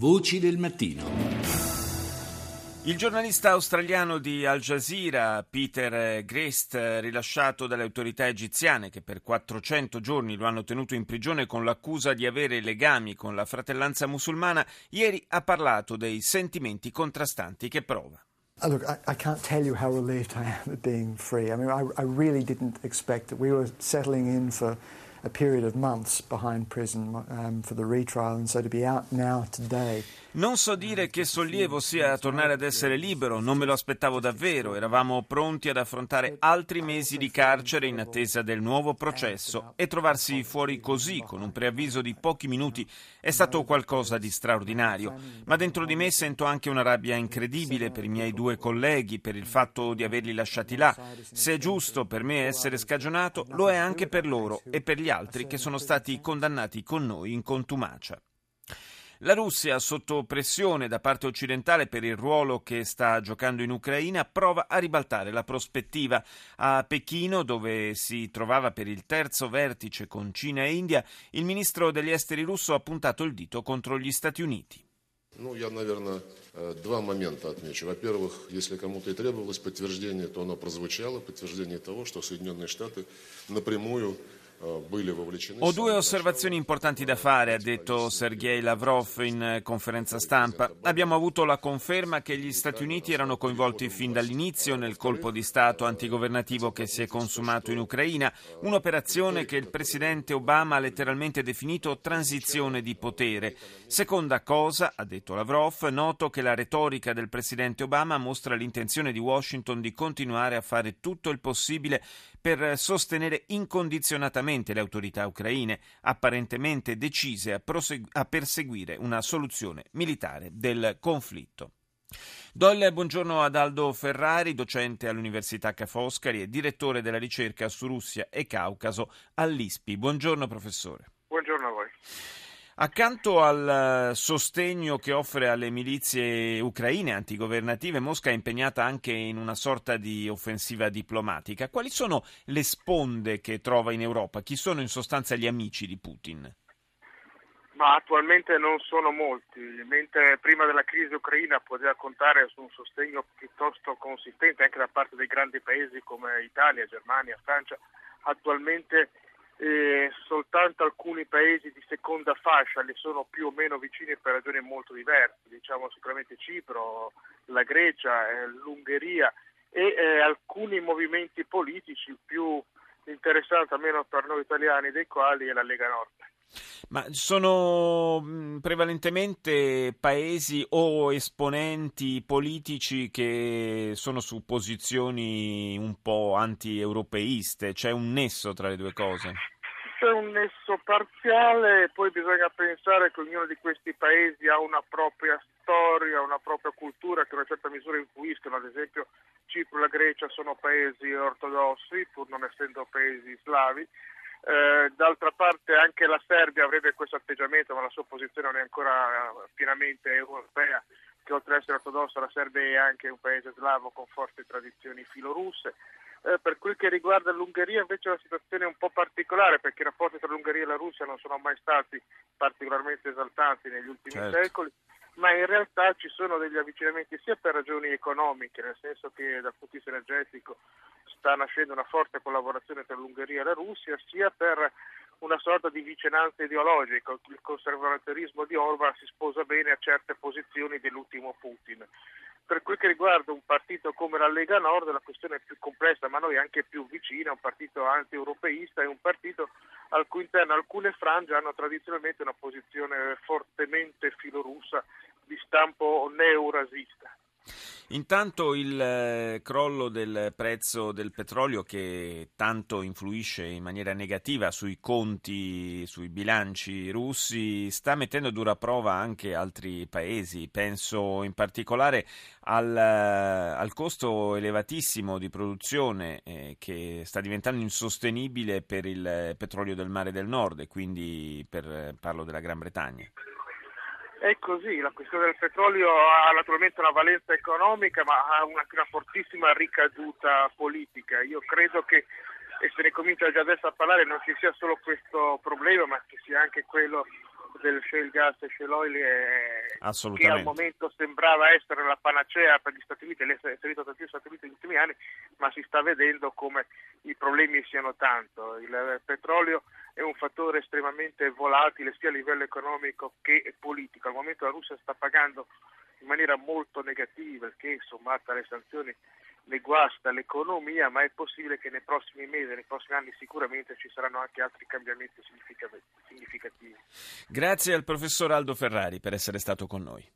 Voci del mattino. Il giornalista australiano di Al Jazeera, Peter Grest, rilasciato dalle autorità egiziane che per 400 giorni lo hanno tenuto in prigione con l'accusa di avere legami con la fratellanza musulmana, ieri ha parlato dei sentimenti contrastanti che prova. Look, I can't tell you how relieved I am at being free. I mean, I really didn't expect that. We were settling in for a period of months behind prison for the retrial, and so to be out now today. Non so dire che sollievo sia tornare ad essere libero, non me lo aspettavo davvero, eravamo pronti ad affrontare altri mesi di carcere in attesa del nuovo processo e trovarsi fuori così, con un preavviso di pochi minuti, è stato qualcosa di straordinario, ma dentro di me sento anche una rabbia incredibile per i miei due colleghi, per il fatto di averli lasciati là. Se è giusto per me essere scagionato, lo è anche per loro e per gli altri che sono stati condannati con noi in contumacia. La Russia, sotto pressione da parte occidentale per il ruolo che sta giocando in Ucraina, prova a ribaltare la prospettiva. A Pechino, dove si trovava per il terzo vertice con Cina e India, il ministro degli esteri russo ha puntato il dito contro gli Stati Uniti. Я, наверное, два момента отмечу. Во-первых, если кому-то и требовалось подтверждение, то оно прозвучало, подтверждение того, что Соединенные Штаты напрямую Ho due osservazioni importanti da fare, ha detto Sergei Lavrov in conferenza stampa. Abbiamo avuto la conferma che gli Stati Uniti erano coinvolti fin dall'inizio nel colpo di Stato antigovernativo che si è consumato in Ucraina, un'operazione che il presidente Obama ha letteralmente definito transizione di potere. Seconda cosa, ha detto Lavrov, noto che la retorica del presidente Obama mostra l'intenzione di Washington di continuare a fare tutto il possibile per sostenere incondizionatamente le autorità ucraine, apparentemente decise a perseguire una soluzione militare del conflitto. Do il buongiorno ad Aldo Ferrari, docente all'Università Ca' Foscari e direttore della ricerca su Russia e Caucaso all'ISPI. Buongiorno professore. Buongiorno a voi. Accanto al sostegno che offre alle milizie ucraine antigovernative, Mosca è impegnata anche in una sorta di offensiva diplomatica. Quali sono le sponde che trova in Europa? Chi sono in sostanza gli amici di Putin? Ma attualmente non sono molti, mentre prima della crisi ucraina poteva contare su un sostegno piuttosto consistente anche da parte dei grandi paesi come Italia, Germania, Francia. Attualmente soltanto alcuni paesi di seconda fascia le sono più o meno vicini per ragioni molto diverse, diciamo sicuramente Cipro, la Grecia, l'Ungheria e alcuni movimenti politici più interessanti, almeno per noi italiani, dei quali è la Lega Nord. Ma sono prevalentemente paesi o esponenti politici che sono su posizioni un po' anti-europeiste? C'è un nesso tra le due cose? C'è un nesso parziale, poi bisogna pensare che ognuno di questi paesi ha una propria storia, una propria cultura che in una certa misura influiscono. Ad esempio Cipro e la Grecia sono paesi ortodossi, pur non essendo paesi slavi. D'altra parte anche la Serbia avrebbe questo atteggiamento, ma la sua posizione non è ancora pienamente europea, che oltre ad essere ortodossa la Serbia è anche un paese slavo con forti tradizioni filorusse. Per quel che riguarda l'Ungheria invece la situazione è un po' particolare, perché i rapporti tra l'Ungheria e la Russia non sono mai stati particolarmente esaltanti negli ultimi secoli, ma in realtà ci sono degli avvicinamenti sia per ragioni economiche, nel senso che dal punto di vista energetico sta nascendo una forte collaborazione tra l'Ungheria e la Russia, sia per una sorta di vicinanza ideologica. Il conservatorismo di Orban si sposa bene a certe posizioni dell'ultimo Putin. Per quel che riguarda un partito come la Lega Nord la questione è più complessa, ma noi anche più vicina, un partito anti-europeista e un partito al cui interno alcune frange hanno tradizionalmente una posizione fortemente filorussa di stampo neo-eurasista. Intanto il crollo del prezzo del petrolio, che tanto influisce in maniera negativa sui conti, sui bilanci russi, sta mettendo a dura prova anche altri paesi. Penso in particolare al costo elevatissimo di produzione che sta diventando insostenibile per il petrolio del Mare del Nord e quindi parlo della Gran Bretagna. È così, la questione del petrolio ha naturalmente una valenza economica, ma ha una fortissima ricaduta politica. Io credo che, e se ne comincia già adesso a parlare, non ci sia solo questo problema, ma ci sia anche quello del shale gas e shale oil che al Assolutamente. momento sembrava essere la panacea per gli Stati Uniti, l'essere inserito tra gli Stati Uniti negli ultimi anni, ma si sta vedendo come i problemi siano tanto. Il petrolio è un fattore estremamente volatile sia a livello economico che politico. Al momento la Russia sta pagando in maniera molto negativa, che sommata alle sanzioni ne guasta l'economia, ma è possibile che nei prossimi mesi, nei prossimi anni sicuramente ci saranno anche altri cambiamenti significativi. Grazie al professor Aldo Ferrari per essere stato con noi.